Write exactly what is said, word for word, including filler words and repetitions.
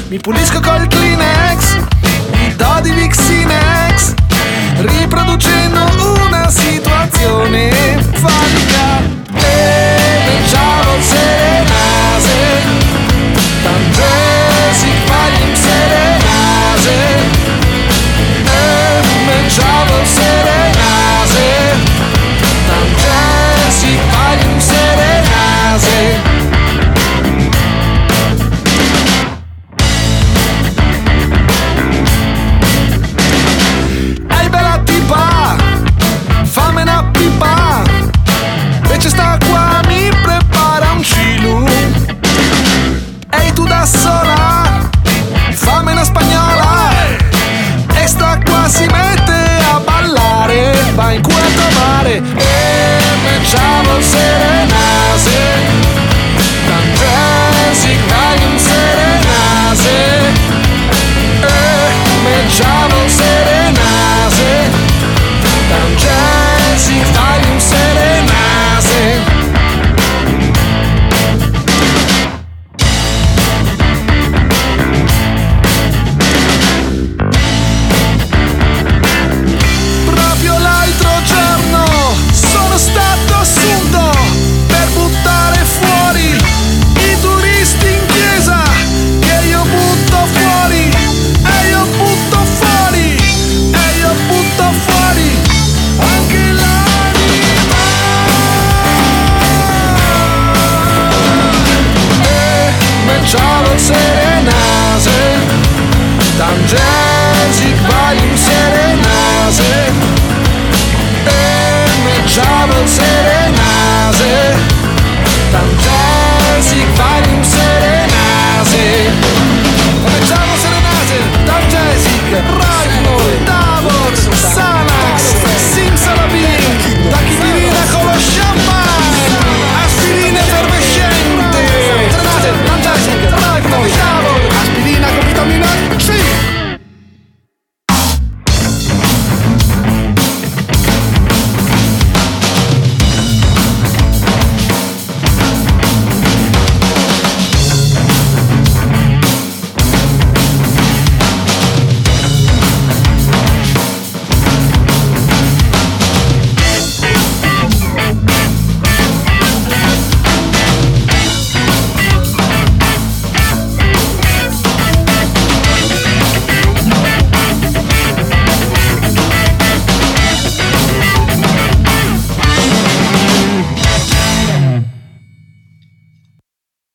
Mi pulisco col Kleenex, mi do di Vixinex, riproducendo una situazione fatica. E ciao serenase, tante si faglim serenase. E ciao serenase, tante si faglim serenase. Fammi una pipa, invece sta qua mi prepara un cilu. Ehi tu da sola, fammi una spagnola, e sta qua si mette a ballare, va in culo a trovare. E me ciao serenase, tante si cagliono serenase. E me ciao serenase, tante si fai un serenase. Proprio l'altro giorno sono stato assunto per buttare fuori i turisti in chiesa, che io butto fuori, e io butto fuori, e io butto fuori anche la. Ciao serenase, tangesi quali un serenase. E me ciao serenase.